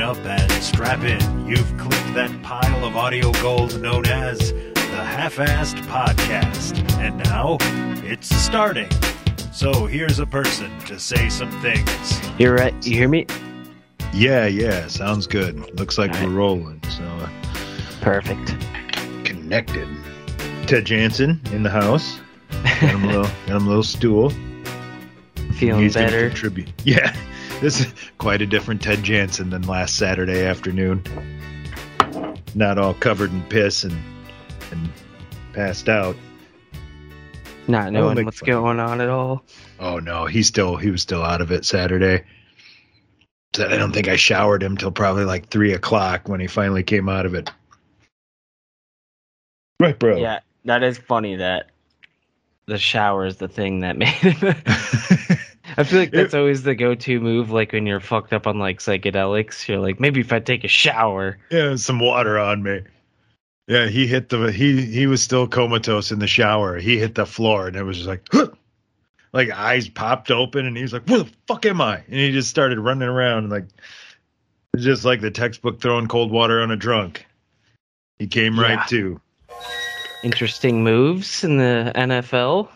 up and strap in. You've clicked that pile of audio gold known as the Half-Assed Podcast. And now, it's starting. So here's a person to say some things. You're right. You hear me? Yeah. Sounds good. Looks like we're rolling. So Perfect. Connected. Ted Jansen in the house. Got him a little stool. Feeling He's better. Gonna contribute. Yeah. This is quite a different Ted Jansen than last Saturday afternoon. Not all covered in piss and passed out. Not knowing what's going on at all. Oh no, he was still out of it Saturday. So I don't think I showered him till probably like 3:00 when he finally came out of it. Right, bro. Yeah, that is funny that the shower is the thing that made him. I feel like that's always the go-to move, like when you're fucked up on like psychedelics. You're like, maybe if I take a shower. Yeah, some water on me. Yeah, he was still comatose in the shower. He hit the floor and it was just like, huh! Like eyes popped open and he was like, where the fuck am I? And he just started running around like, just like the textbook throwing cold water on a drunk. He came right to. Interesting moves in the NFL.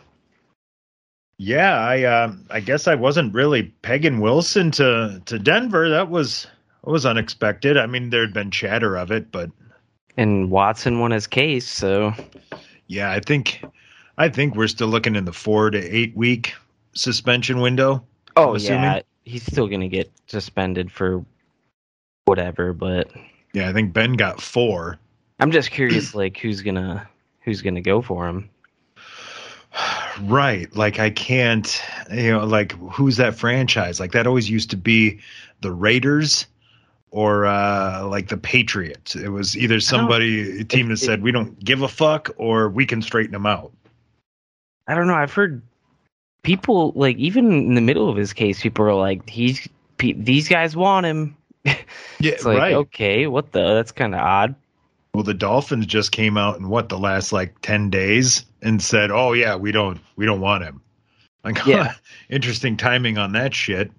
Yeah, I guess I wasn't really pegging Wilson to Denver. That was unexpected. I mean, there'd been chatter of it, but and Watson won his case, so yeah, I think we're still looking in the 4 to 8 week suspension window. Oh yeah, he's still gonna get suspended for whatever, but yeah, I think Ben got 4. I'm just curious, like who's gonna go for him. Right. Like I can't, like who's that franchise? Like that always used to be the Raiders or like the Patriots. It was either a team that said we don't give a fuck or we can straighten them out. I don't know. I've heard people like even in the middle of his case, people are like, these guys want him. Yeah, it's like, right. Okay, that's kind of odd. Well, the Dolphins just came out in the last like 10 days and said, "Oh yeah, we don't want him." Like, yeah. Interesting timing on that shit.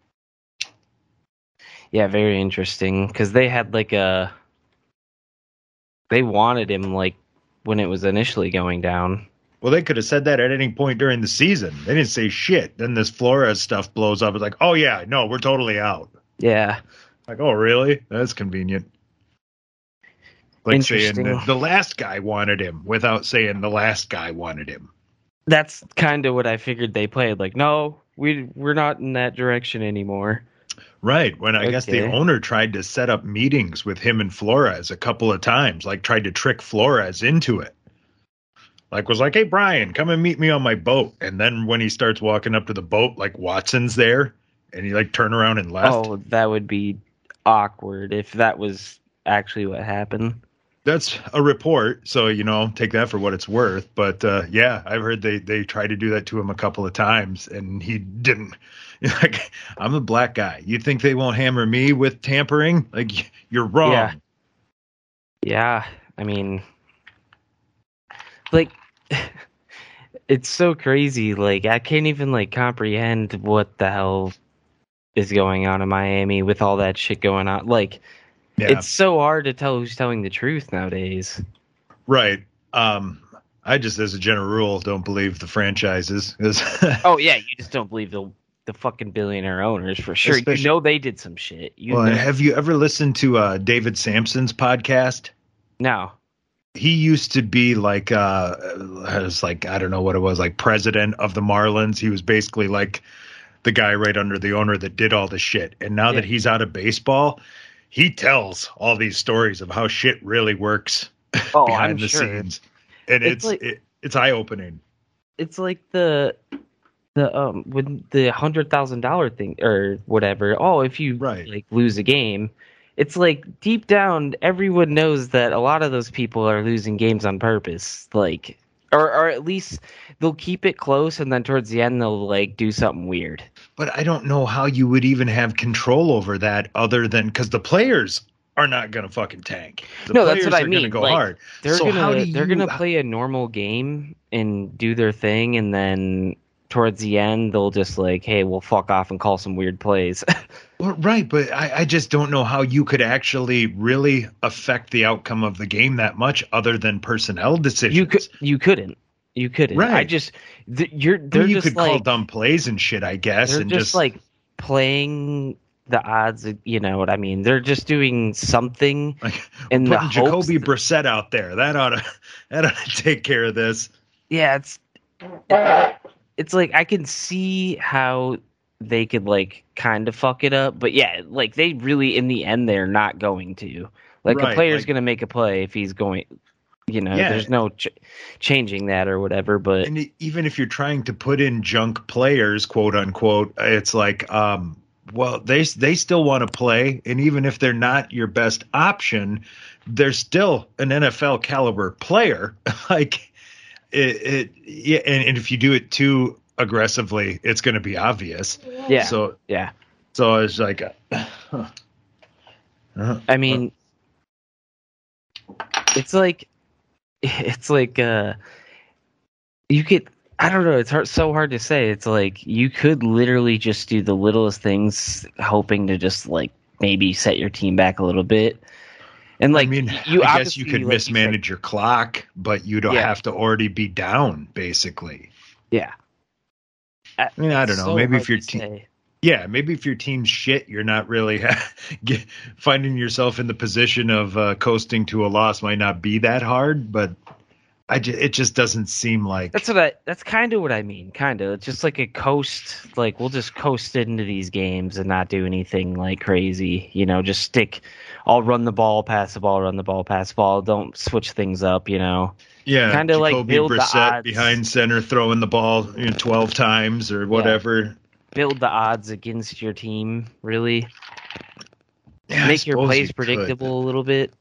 Yeah, very interesting because they had they wanted him like when it was initially going down. Well, they could have said that at any point during the season. They didn't say shit. Then this Flores stuff blows up. It's like, "Oh yeah, no, we're totally out." Yeah. Like, "Oh really? That's convenient." Like saying the last guy wanted him without saying the last guy wanted him. That's kind of what I figured they played. Like, no, we're not in that direction anymore. Right. When I guess the owner tried to set up meetings with him and Flores a couple of times, like tried to trick Flores into it. Like was like, "Hey, Brian, come and meet me on my boat." And then when he starts walking up to the boat, like Watson's there and he like turned around and left. Oh, that would be awkward if that was actually what happened. That's a report, so, take that for what it's worth. But, yeah, I've heard they tried to do that to him a couple of times, and he didn't. Like, I'm a black guy. You think they won't hammer me with tampering? Like, you're wrong. Yeah. I mean, like, it's so crazy. Like, I can't even, like, comprehend what the hell is going on in Miami with all that shit going on. Like, yeah. It's so hard to tell who's telling the truth nowadays. Right. I just, as a general rule, don't believe the franchises. Oh, yeah. You just don't believe the fucking billionaire owners for sure. They did some shit. Have you ever listened to David Sampson's podcast? No. He used to be like, I don't know what it was, like president of the Marlins. He was basically like the guy right under the owner that did all the shit. And now that he's out of baseball, he tells all these stories of how shit really works behind the scenes, and it's eye-opening. It's like the with the $100,000 thing or whatever. Oh, if you like lose a game, it's like deep down everyone knows that a lot of those people are losing games on purpose. Like, or at least they'll keep it close, and then towards the end they'll like do something weird. But I don't know how you would even have control over that other than because the players are not going to fucking tank. That's what I mean. Go hard. They're gonna play a normal game and do their thing, and then towards the end, they'll just like, hey, we'll fuck off and call some weird plays. Well, right, but I just don't know how you could actually really affect the outcome of the game that much other than personnel decisions. You couldn't. Right. I just you could call dumb plays and shit, I guess. They're and just like playing the odds, you know what I mean? They're just doing something. Like putting Jacoby Brissett out there. That ought to take care of this. Yeah, it's like I can see how they could like kind of fuck it up, but yeah, like they really in the end they're not going to. Like a player's going to make a play if he's going. You know, there's no changing that or whatever. But and even if you're trying to put in junk players, quote unquote, it's like. Well, they still want to play, and even if they're not your best option, they're still an NFL caliber player. Like and if you do it too aggressively, it's going to be obvious. Yeah. So it's like, I mean, it's like you could. I don't know. It's so hard to say. It's like you could literally just do the littlest things, hoping to just like maybe set your team back a little bit. And like, I mean, I guess you could mismanage your clock, but you don't have to already be down, basically. Yeah. I mean, I don't know. So maybe if your team, maybe if your team's shit, you're not really finding yourself in the position of coasting to a loss. Might not be that hard, but. It just doesn't seem like that's kind of what I mean. Kind of, it's just like a coast. Like we'll just coast into these games and not do anything like crazy. You know, just stick. I'll run the ball, pass the ball, run the ball, pass the ball. Don't switch things up. You know. Yeah, kind of like build Brissett the odds behind center, throwing the ball 12 times or whatever. Yeah. Build the odds against your team. Really. Yeah, make your plays predictable a little bit.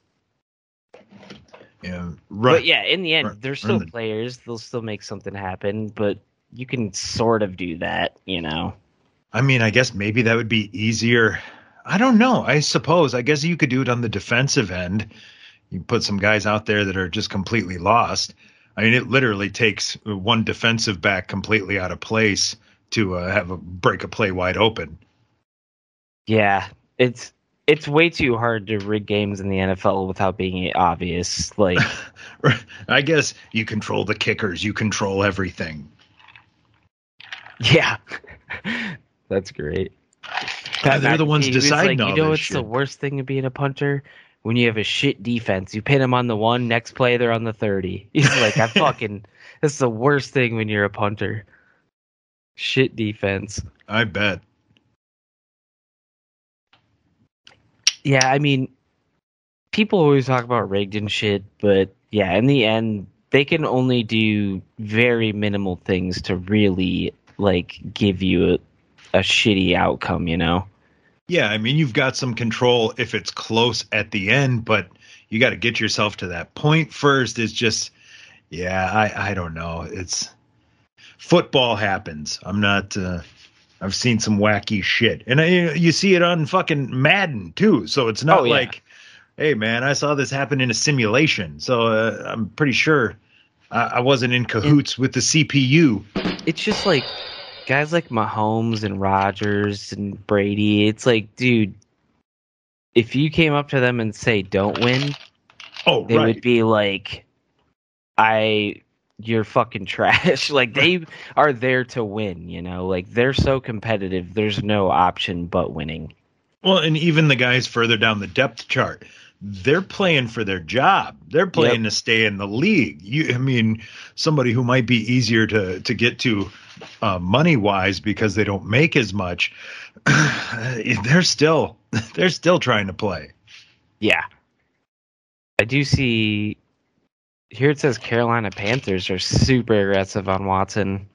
Yeah, right. But yeah, in the end, they're still players. They'll still make something happen, but you can sort of do that, you know. I mean, I guess maybe that would be easier. I don't know. I guess you could do it on the defensive end. You put some guys out there that are just completely lost. I mean, it literally takes one defensive back completely out of place to break a play wide open. Yeah, it's way too hard to rig games in the NFL without being obvious. Like, I guess you control the kickers, you control everything. Yeah, that's great. They're the ones deciding all this shit. You know what's the worst thing of being a punter? When you have a shit defense, you pin them on the 1, next play they're on the 30. He's like, that's the worst thing when you're a punter. Shit defense. I bet. Yeah, I mean, people always talk about rigged and shit, but yeah, in the end, they can only do very minimal things to really like give you a shitty outcome, you know? Yeah, I mean, you've got some control if it's close at the end, but you got to get yourself to that point first. It's just, I don't know. It's football happens. I'm not. I've seen some wacky shit, and you see it on fucking Madden too. So it's not like, hey man, I saw this happen in a simulation. So I'm pretty sure I wasn't in cahoots with the CPU. It's just like guys like Mahomes and Rodgers and Brady. It's like, dude, if you came up to them and say don't win, they would be like, you're fucking trash. Like, they are there to win, you know? Like, they're so competitive, there's no option but winning. Well, and even the guys further down the depth chart, they're playing for their job. They're playing to stay in the league. I mean, somebody who might be easier to get to money-wise because they don't make as much, they're still trying to play. Yeah. I do see... Here it says Carolina Panthers are super aggressive on Watson.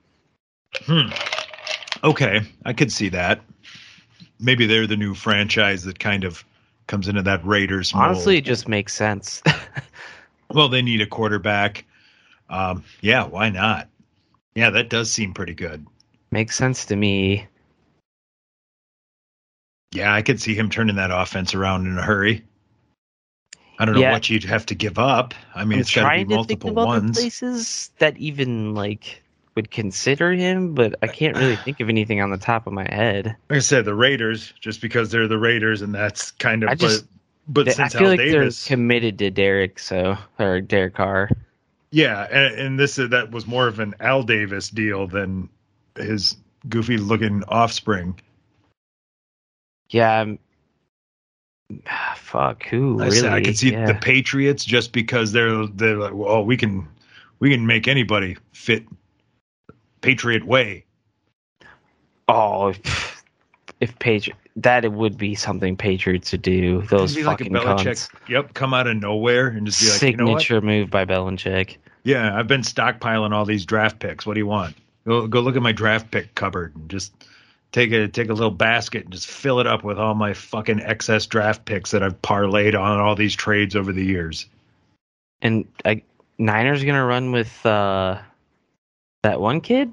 Okay, I could see that. Maybe they're the new franchise that kind of comes into that Raiders mold. Honestly, it just makes sense. Well, they need a quarterback. Yeah, why not? Yeah, that does seem pretty good. Makes sense to me. Yeah, I could see him turning that offense around in a hurry. I don't know what you'd have to give up. I mean, it's got to be multiple ones. Places that even like would consider him, but I can't really think of anything on the top of my head. Like I said, the Raiders, just because they're the Raiders, and that's kind of. But since I feel Al like Davis, they're committed to Derek Carr. Yeah, and that was more of an Al Davis deal than his goofy looking offspring. Yeah. Fuck, who really? I could see the Patriots just because they're like, well, we can make anybody fit Patriot way. Oh, if that it would be something Patriots would do. Those fucking like cunts. Yep, come out of nowhere and just be like, signature you know what? move by Belichick. Yeah, I've been stockpiling all these draft picks. What do you want? Go look at my draft pick cupboard and just take a little basket and just fill it up with all my fucking excess draft picks that I've parlayed on all these trades over the years. And Niners gonna run with that one kid?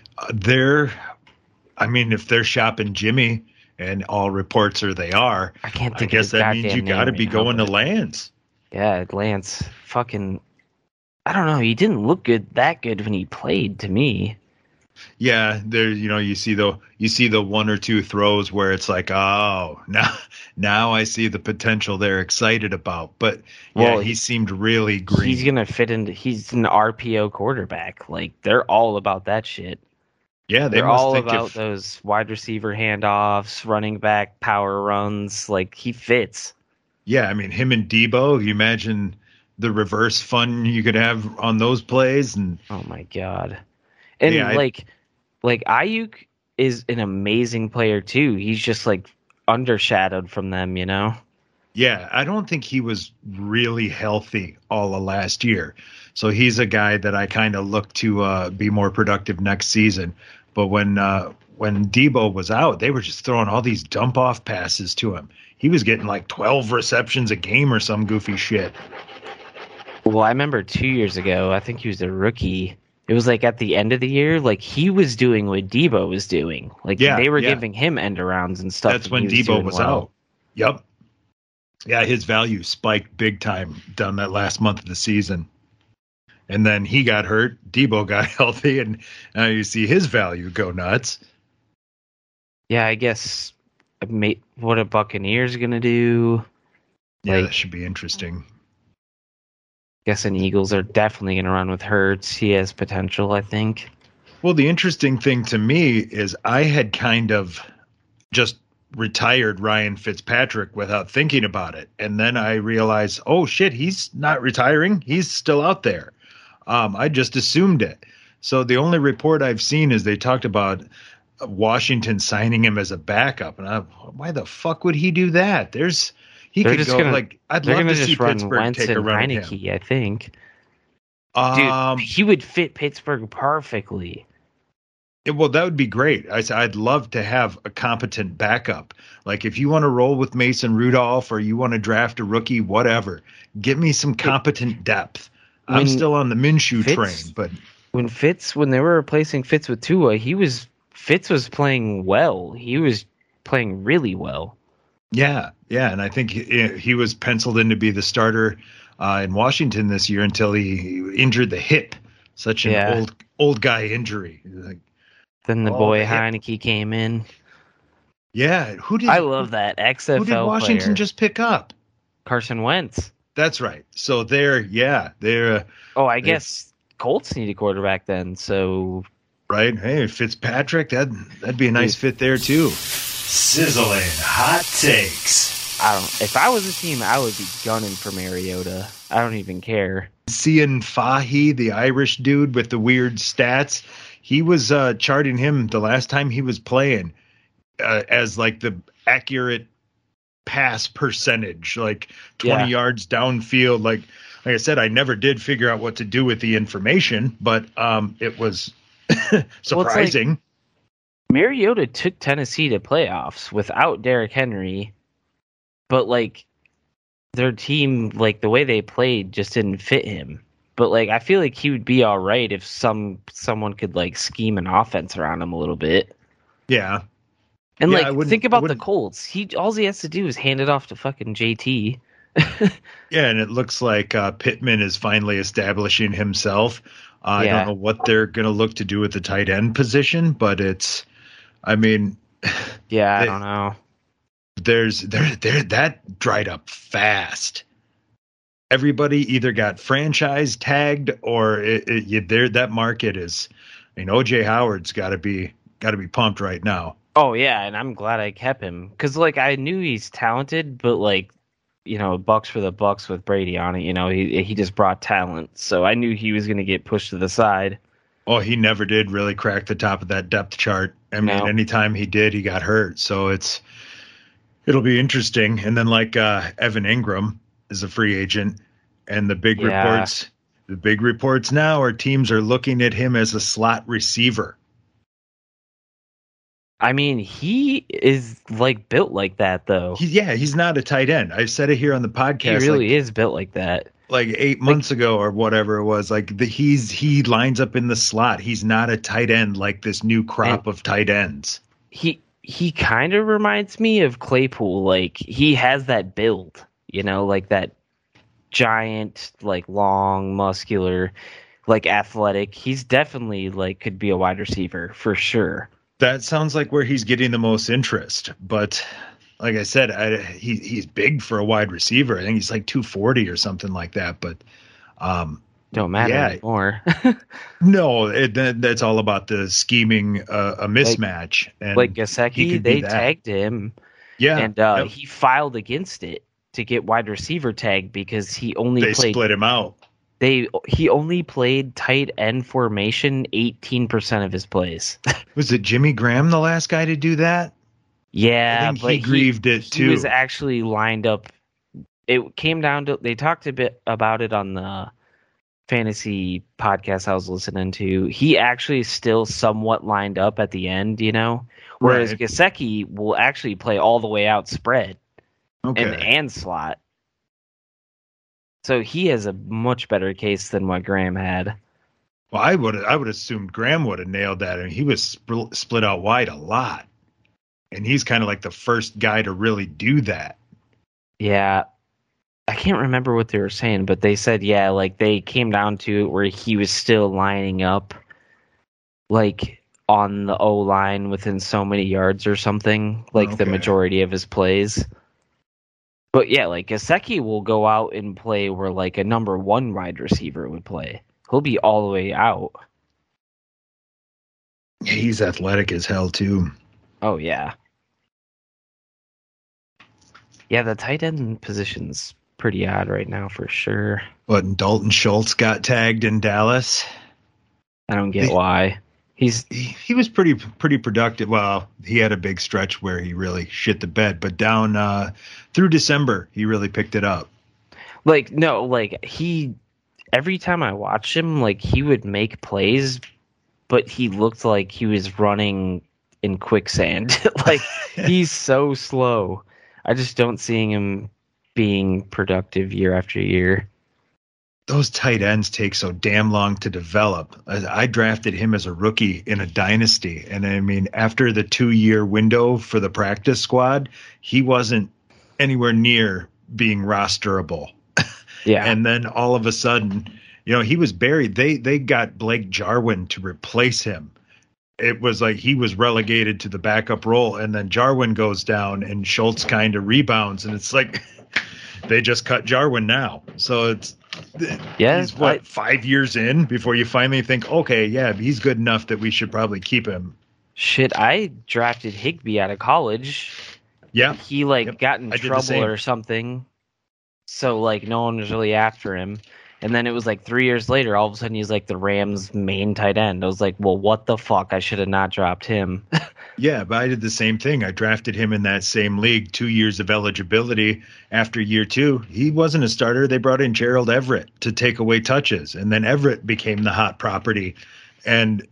If they're shopping Jimmy, and all reports are they are, I can't think. I guess that means you got to be going to Lance. Yeah, Lance. Fucking. I don't know. He didn't look that good when he played to me. Yeah, there. You see the one or two throws where it's like, oh, now I see the potential they're excited about. But yeah, he seemed really green. He's gonna fit into. He's an RPO quarterback. Like they're all about that shit. Yeah, they're all about those wide receiver handoffs, running back power runs. Like he fits. Yeah, I mean him and Debo. You imagine the reverse fun you could have on those plays. And oh my god. And like Ayuk is an amazing player too. He's just like undershadowed from them, you know? Yeah, I don't think he was really healthy all of last year. So he's a guy that I kind of look to be more productive next season. But when Debo was out, they were just throwing all these dump off passes to him. He was getting like 12 receptions a game or some goofy shit. Well, I remember 2 years ago, I think he was a rookie. It was like at the end of the year, like he was doing what Debo was doing. Like they were giving him end arounds and stuff. That's when Debo was out. Yep. Yeah, his value spiked big time down that last month of the season. And then he got hurt, Debo got healthy, and now you see his value go nuts. Yeah, I guess what a Buccaneers going to do. Yeah, that should be interesting. Guessing Eagles are definitely going to run with Hurts. He has potential, I think. Well, the interesting thing to me is I had kind of just retired Ryan Fitzpatrick without thinking about it. And then I realized, oh, shit, he's not retiring. He's still out there. I just assumed it. So the only report I've seen is they talked about Washington signing him as a backup. And why the fuck would he do that? He could go I'd love to see Pittsburgh take a run at him. I think. Dude, he would fit Pittsburgh perfectly. Well, that would be great. I'd love to have a competent backup. Like if you want to roll with Mason Rudolph or you want to draft a rookie, whatever, give me some competent depth. I'm still on the Minshew train, but when they were replacing Fitz with Tua, Fitz was playing well. He was playing really well. Yeah, and I think he was penciled in to be the starter in Washington this year until he injured the hip. Such an old guy injury. Then the boy Heineke came in. Yeah, I love that XFL. Who did Washington player. Just pick up? Carson Wentz. That's right. So they're. I guess Colts need a quarterback then. So. Right. Hey, Fitzpatrick. That'd be a nice fit there too. Sizzling hot takes. If I was a team, I would be gunning for Mariota. I don't even care. Cian Fahy, the Irish dude with the weird stats, he was charting him the last time he was playing as like the accurate pass percentage, like 20 yards downfield. Like I said, I never did figure out what to do with the information, but it was surprising. Well, Mariota took Tennessee to playoffs without Derrick Henry, but like their team, like the way they played just didn't fit him. But like I feel like he would be all right if someone could like scheme an offense around him a little bit. Yeah. And think about the Colts. All he has to do is hand it off to fucking JT. Yeah, and it looks like Pittman is finally establishing himself. I don't know what they're going to look to do with the tight end position, but I don't know. That dried up fast. Everybody either got franchise tagged or that market is. I mean, OJ Howard's got to be pumped right now. Oh yeah, and I'm glad I kept him because like I knew he's talented, but like bucks for the bucks with Brady on it. He just brought talent, so I knew he was going to get pushed to the side. Oh, he never did really crack the top of that depth chart. I mean, anytime he did, he got hurt. So it'll be interesting. And then like Evan Ingram is a free agent, and the big reports now are teams are looking at him as a slot receiver. I mean, he is like built like that, though. He's not a tight end. I've said it here on the podcast. He really is built like that. Like 8 months ago or whatever it was, like he lines up in the slot. He's not a tight end like this new crop of tight ends. He kind of reminds me of Claypool. Like he has that build, like that giant, like long, muscular, like athletic. He's definitely like could be a wide receiver for sure. That sounds like where he's getting the most interest. But like I said, he's big for a wide receiver. I think he's like 240 or something like that. But don't matter anymore. No, that's all about the scheming a mismatch. And like Gesicki, they tagged him. Yeah. And he filed against it to get wide receiver tag because he only split him out. He only played tight end formation 18% of his plays. Was it Jimmy Graham the last guy to do that? Yeah, I think he grieved it too. He was actually lined up. It came down to they talked a bit about it on the fantasy podcast I was listening to. He actually still somewhat lined up at the end, whereas Gesicki will actually play all the way out spread and slot. So he has a much better case than what Graham had. Well, I would assume Graham would have nailed that, and he was split out wide a lot, and he's kind of like the first guy to really do that. Yeah, I can't remember what they were saying, but they said like they came down to it where he was still lining up, like on the O line within so many yards or something, like the majority of his plays. But yeah, like Gesicki will go out and play where like a number one wide receiver would play. He'll be all the way out. He's athletic as hell too. Oh yeah. Yeah, the tight end position's pretty odd right now for sure. But Dalton Schultz got tagged in Dallas. I don't get why. He was pretty productive. Well, he had a big stretch where he really shit the bed, but down through December he really picked it up. Like he every time I watched him, like he would make plays, but he looked like he was running in quicksand. Like he's so slow. I just don't see him being productive year after year. Those tight ends take so damn long to develop. I drafted him as a rookie in a dynasty. And I mean, after the 2-year window for the practice squad, he wasn't anywhere near being rosterable. Yeah. And then all of a sudden, he was buried. They got Blake Jarwin to replace him. It was like he was relegated to the backup role. And then Jarwin goes down and Schultz kind of rebounds. And it's like they just cut Jarwin now. So he's 5 years in before you finally think, okay, yeah, he's good enough that we should probably keep him. Shit, I drafted Higbee out of college. Yeah. He got in trouble or something. So no one was really after him. And then it was 3 years later, all of a sudden he's the Rams' main tight end. I was like, well, what the fuck? I should have not dropped him. Yeah, but I did the same thing. I drafted him in that same league, 2 years of eligibility. After year 2, he wasn't a starter. They brought in Gerald Everett to take away touches. And then Everett became the hot property. And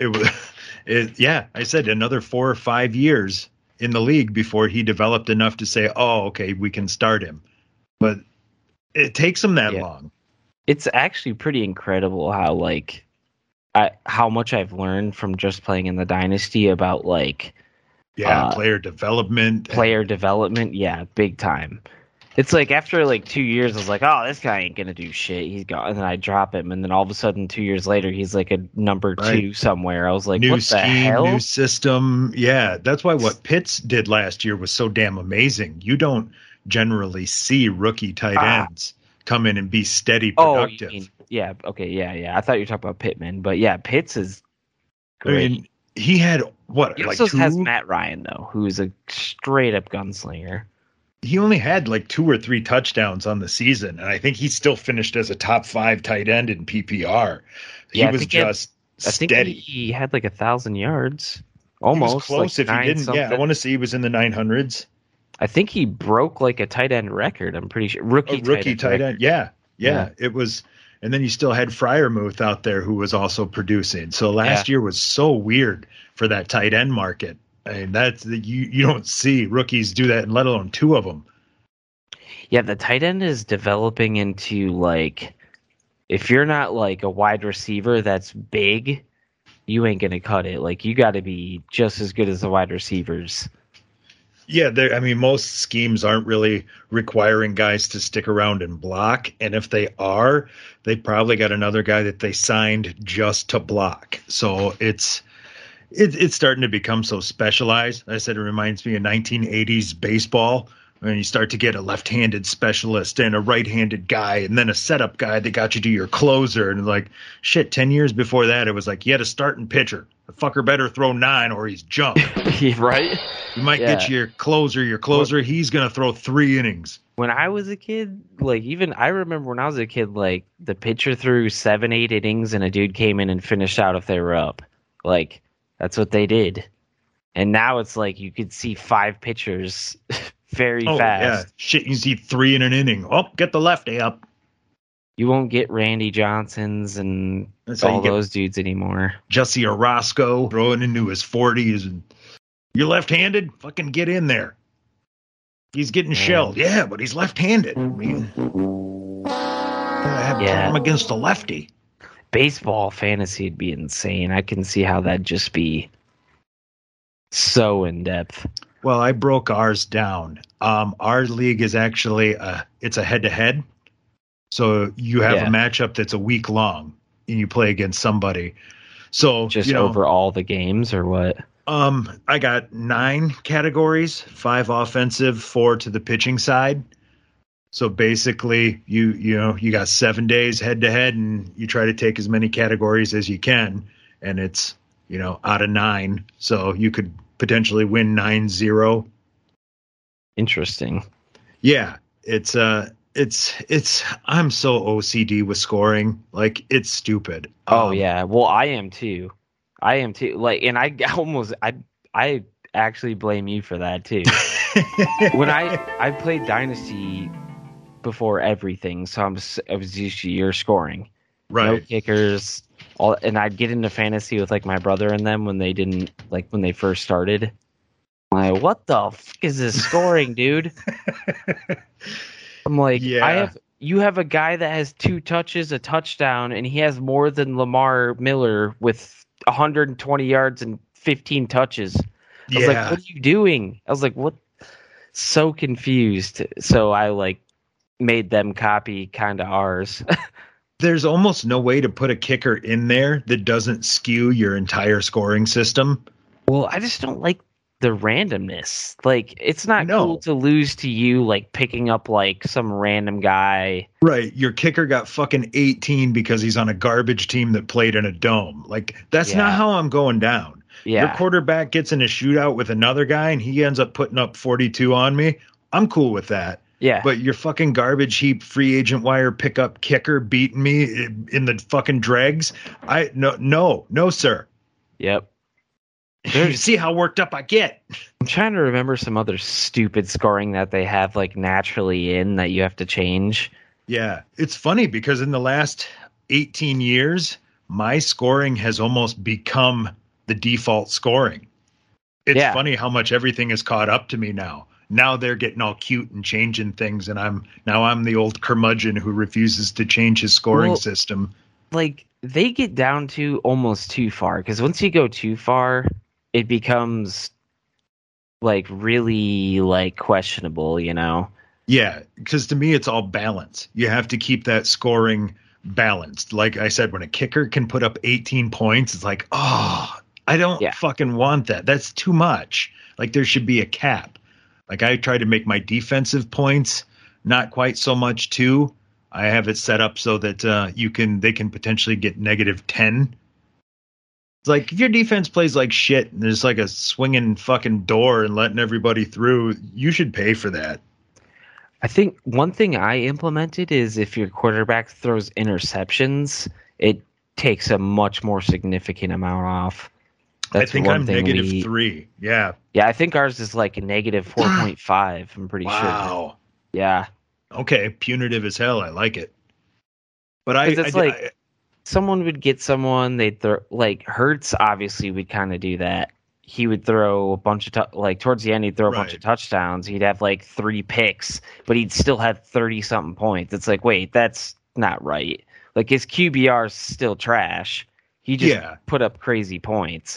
I said another 4 or 5 years in the league before he developed enough to say, oh, okay, we can start him. But it takes him that long. It's actually pretty incredible how how much I've learned from just playing in the Dynasty about player development. Player development, yeah, big time. It's like after like 2 years, I was like, oh, this guy ain't gonna do shit. He's gone, and then I drop him, and then all of a sudden, 2 years later, he's like a number two somewhere. I was like, new what scheme, the hell? new system. Yeah, that's why what Pitts did last year was so damn amazing. You don't generally see rookie tight ends come in and be steady productive. Oh, yeah, okay, yeah. I thought you were talking about Pittman, but yeah, Pitts is great. I mean, he had what? He like also has two? Matt Ryan though, who's a straight up gunslinger. He only had like 2 or 3 touchdowns on the season, and I think he still finished as a top 5 tight end in PPR. He was just steady. I think he had like 1,000 yards, almost. He was close like if he didn't. something. Yeah, I want to say he was in the 900s. I think he broke like a tight end record. I'm pretty sure rookie tight end. Yeah, it was. And then you still had Freiermuth out there who was also producing. So last year was so weird for that tight end market. I mean, that's you don't see rookies do that, and let alone 2 of them. Yeah, the tight end is developing into like, if you're not like a wide receiver that's big, you ain't gonna cut it. Like you got to be just as good as the wide receivers. Yeah, I mean, most schemes aren't really requiring guys to stick around and block, and if they are, they probably got another guy that they signed just to block. So it's starting to become so specialized. I said it reminds me of 1980s baseball, when you start to get a left-handed specialist and a right-handed guy and then a setup guy that got you to your closer. And like, shit, 10 years before that, it was like, you had a starting pitcher. The fucker better throw 9 or he's junk. Right? You might get your closer. Your closer, he's going to throw 3 innings. When I was a kid, like even I remember when I was a kid, like the pitcher threw 7, 8 innings and a dude came in and finished out if they were up. Like, that's what they did. And now it's like you could see 5 pitchers very fast. Yeah. Shit, you see 3 in an inning. Oh, get the lefty up. You won't get Randy Johnsons and all those dudes anymore. Jesse Orosco throwing into his 40s. And you're left-handed? Fucking get in there. He's getting shelled. Yeah, but he's left-handed. I mean, I have time against the lefty. Baseball fantasy would be insane. I can see how that'd just be so in-depth. Well, I broke ours down. Our league is actually it's a head-to-head. So you have a matchup that's a week long, and you play against somebody. So just over all the games, or what? I got 9 categories: 5 offensive, 4 to the pitching side. So basically, you got 7 days head-to-head, and you try to take as many categories as you can, and it's out of 9, so you could potentially win 9-0. Interesting. Yeah, it's I'm so OCD with scoring, like it's stupid. Yeah, well I am too. Like, and I actually blame you for that too. When I played Dynasty before everything, so I was used to your scoring, right? No kickers, and I'd get into fantasy with like my brother and them when they first started. I'm like, what the fuck is this scoring, dude? I'm like, you have a guy that has 2 touches, a touchdown, and he has more than Lamar Miller with 120 yards and 15 touches. I was like, what are you doing? I was like, what? So confused. So I made them copy kind of ours. There's almost no way to put a kicker in there that doesn't skew your entire scoring system. Well, I just don't like the randomness. Like, it's not cool to lose to you, like picking up like some random guy. Right. Your kicker got fucking 18 because he's on a garbage team that played in a dome. Like, that's not how I'm going down. Yeah. Your quarterback gets in a shootout with another guy and he ends up putting up 42 on me. I'm cool with that. Yeah. But your fucking garbage heap free agent wire pickup kicker beating me in the fucking dregs. No, sir. Yep. You see how worked up I get. I'm trying to remember some other stupid scoring that they have like naturally in that you have to change. Yeah. It's funny because in the last 18 years, my scoring has almost become the default scoring. It's funny how much everything is caught up to me now. Now they're getting all cute and changing things, and I'm the old curmudgeon who refuses to change his scoring system. Like, they get down to almost too far, because once you go too far, it becomes like really like questionable, Yeah, because to me, it's all balance. You have to keep that scoring balanced. Like I said, when a kicker can put up 18 points, it's like, oh, I don't fucking want that. That's too much. Like there should be a cap. Like I try to make my defensive points not quite so much too. I have it set up so that they can potentially get -10. It's like if your defense plays like shit and there's like a swinging fucking door and letting everybody through, you should pay for that. I think one thing I implemented is if your quarterback throws interceptions, it takes a much more significant amount off. That's I think I'm -3. Yeah. Yeah, I think ours is like a -4.5. I'm pretty sure. Wow. Yeah. Okay, punitive as hell. I like it. But someone would get someone, they'd throw, like Hurts obviously would kind of do that. He would throw a bunch of, towards the end, he'd throw a bunch of touchdowns. He'd have like 3 picks, but he'd still have 30-something points. It's like, wait, that's not right. Like his QBR's still trash. He just put up crazy points.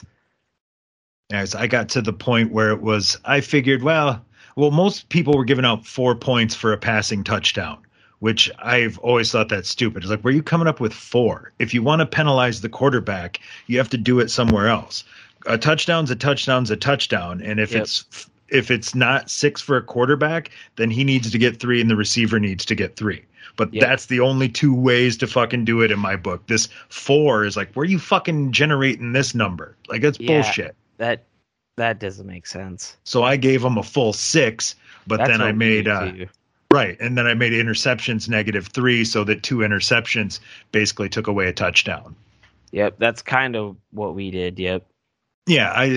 As I got to the point where it was, I figured, well, most people were giving out 4 points for a passing touchdown, which I've always thought that's stupid. It's like, where are you coming up with 4? If you want to penalize the quarterback, you have to do it somewhere else. A touchdown's a touchdown's a touchdown. And if it's not 6 for a quarterback, then he needs to get 3 and the receiver needs to get 3. But that's the only 2 ways to fucking do it in my book. This 4 is like, where are you fucking generating this number? Like, that's bullshit. That doesn't make sense. So I gave him a full 6, but then I made right, and then I made interceptions -3, so that 2 interceptions basically took away a touchdown. Yep, that's kind of what we did. Yep. Yeah,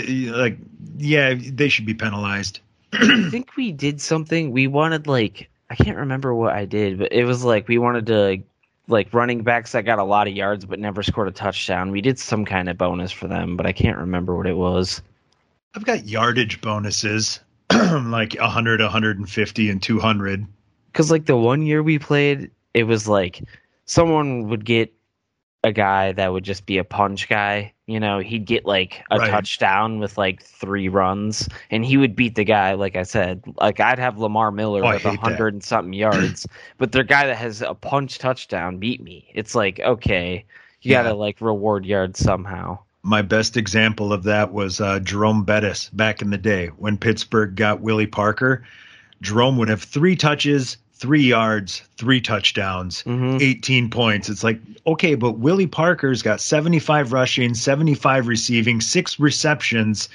they should be penalized. I think we did something. We wanted I can't remember what I did, but it was like we wanted to running backs that got a lot of yards but never scored a touchdown. We did some kind of bonus for them, but I can't remember what it was. I've got yardage bonuses, like 100, 150, and 200. Because the one year we played, it was like someone would get a guy that would just be a punch guy. You know, he'd get a touchdown with 3 runs, and he would beat the guy. Like I said, I'd have Lamar Miller with 100 and something yards, but the guy that has a punch touchdown beat me. It's like, okay, you got to reward yards somehow. My best example of that was Jerome Bettis back in the day when Pittsburgh got Willie Parker. Jerome would have 3 touches, 3 yards, 3 touchdowns, 18 points. It's like, okay, but Willie Parker's got 75 rushing, 75 receiving, 6 receptions.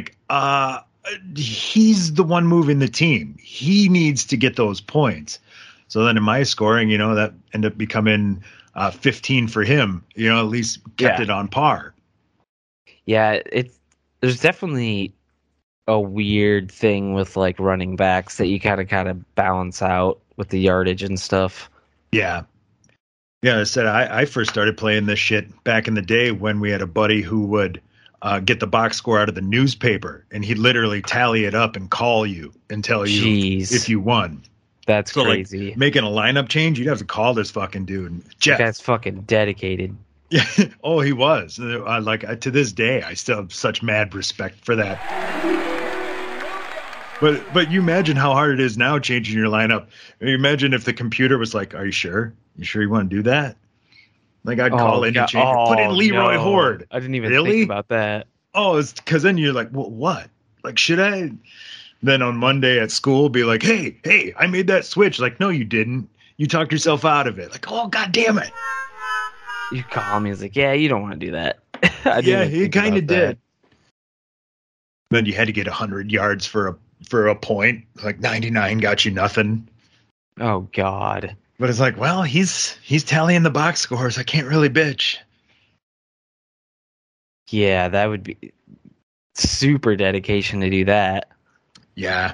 He's the one moving the team. He needs to get those points. So then in my scoring, that ended up becoming 15 for him. At least kept it on par. Yeah, there's definitely a weird thing with running backs that you kind of balance out with the yardage and stuff. Yeah. Yeah, I said I first started playing this shit back in the day when we had a buddy who would get the box score out of the newspaper, and he'd literally tally it up and call you and tell you if you won. That's crazy. Making a lineup change, you'd have to call this fucking dude. Jeff. That guy's fucking dedicated. Yeah. Oh, he was. To this day, I still have such mad respect for that. But you imagine how hard it is now changing your lineup. You imagine if the computer was like, "Are you sure? You sure you want to do that?" I'd call in and change. Put in Leroy Horde. I didn't even think about that. Oh, it's because then you're like, well, what? Should I? Then on Monday at school, be like, hey, I made that switch. No, you didn't. You talked yourself out of it. Oh, God damn it. You call me. It's like, yeah, you don't want to do that. Yeah, he kind of did. Then you had to get 100 yards for a point. 99 got you nothing. Oh God. But it's like, well, he's tallying the box scores. I can't really bitch. Yeah, that would be super dedication to do that. Yeah.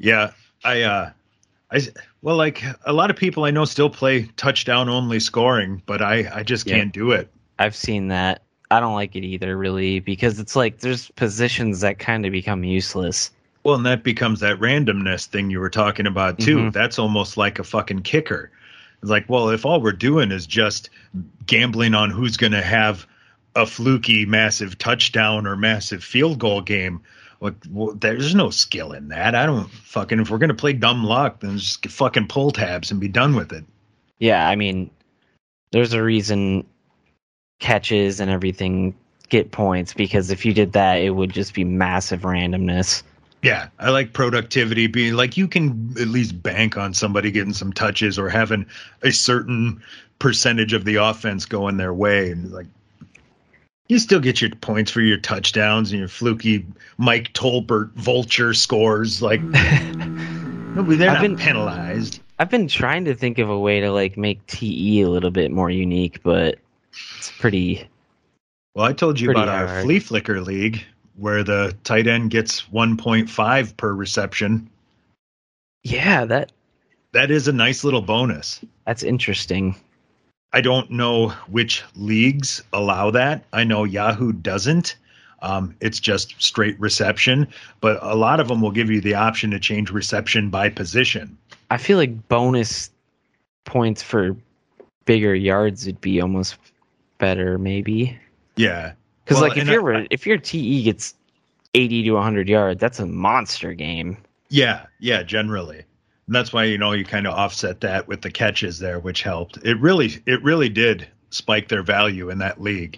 Well, a lot of people I know still play touchdown only scoring, but I just can't do it. I've seen that. I don't like it either, really, because it's there's positions that kind of become useless. Well, and that becomes that randomness thing you were talking about too. Mm-hmm. That's almost like a fucking kicker. It's like, well, if all we're doing is just gambling on who's going to have a fluky massive touchdown or massive field goal game, Well, there's no skill in that. I don't fucking, if we're going to play dumb luck, then just fucking pull tabs and be done with it. Yeah, I mean, there's a reason catches and everything get points, because if you did that, it would just be massive randomness. Yeah, I like productivity being like, you can at least bank on somebody getting some touches or having a certain percentage of the offense going their way. And like, you still get your points for your touchdowns and your fluky Mike Tolbert vulture scores. Like, they're not penalized. I've been trying to think of a way to like make TE a little bit more unique, but it's pretty. Well, I told you about our Flea Flicker League, where the tight end gets 1.5 per reception. Yeah, that is a nice little bonus. That's interesting. I don't know which leagues allow that. I know Yahoo doesn't. It's just straight reception, but a lot of them will give you the option to change reception by position. I feel like bonus points for bigger yards would be almost better, maybe. Yeah. Because like if your TE gets 80 to 100 yards, that's a monster game. Yeah, generally. And that's why, you kind of offset that with the catches there, which helped. It really did spike their value in that league.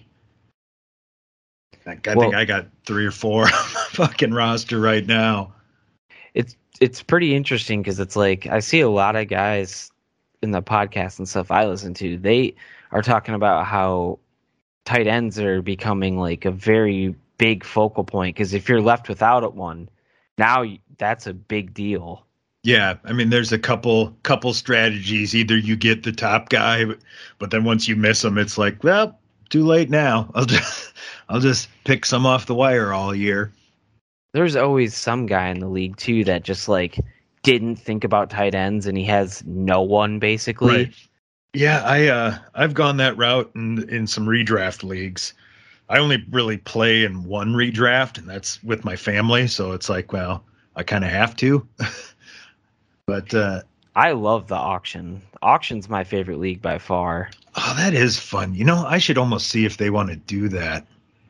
I think I got 3 or 4 on my fucking roster right now. It's pretty interesting because it's like I see a lot of guys in the podcast and stuff I listen to. They are talking about how tight ends are becoming like a very big focal point, because if you're left without one, now that's a big deal. Yeah, I mean, there's a couple strategies. Either you get the top guy, but then once you miss him, it's like, well, too late now. I'll just pick some off the wire all year. There's always some guy in the league too that just like didn't think about tight ends, and he has no one basically. Right. Yeah, I've gone that route in some redraft leagues. I only really play in one redraft, and that's with my family. So it's like, well, I kind of have to. But I love the auction. Auction's my favorite league by far. Oh, that is fun. I should almost see if they want to do that.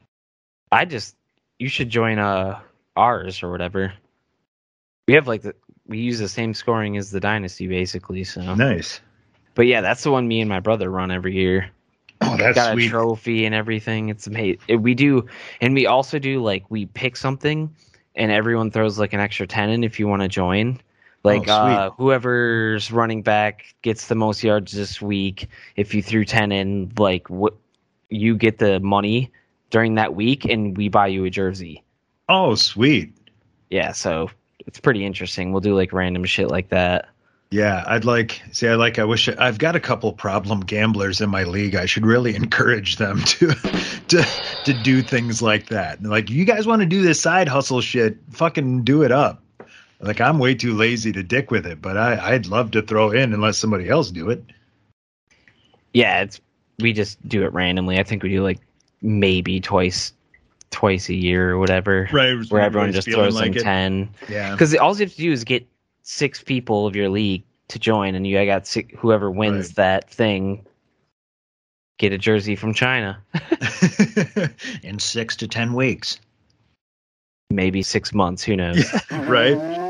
You should join ours or whatever. We have we use the same scoring as the Dynasty basically. So nice. But yeah, that's the one me and my brother run every year. Oh, that's got sweet. A trophy and everything. It's amazing. We do, and we also do we pick something, and everyone throws like an extra 10 in if you want to join. Whoever's running back gets the most yards this week. If you threw 10 in, you get the money during that week, and we buy you a jersey. Oh, sweet. Yeah, so it's pretty interesting. We'll do random shit like that. Yeah, I wish I've got a couple problem gamblers in my league. I should really encourage them to do things like that. Like, you guys want to do this side hustle shit, fucking do it up. Like, I'm way too lazy to dick with it, but I'd love to throw in and let somebody else do it. Yeah, we just do it randomly. I think we do maybe twice a year or whatever. Right. Where everyone just throws in 10. Yeah. Because all you have to do is get 6 people of your league to join, and you got whoever wins that thing get a jersey from China. In 6 to 10 weeks. Maybe 6 months, who knows? Right.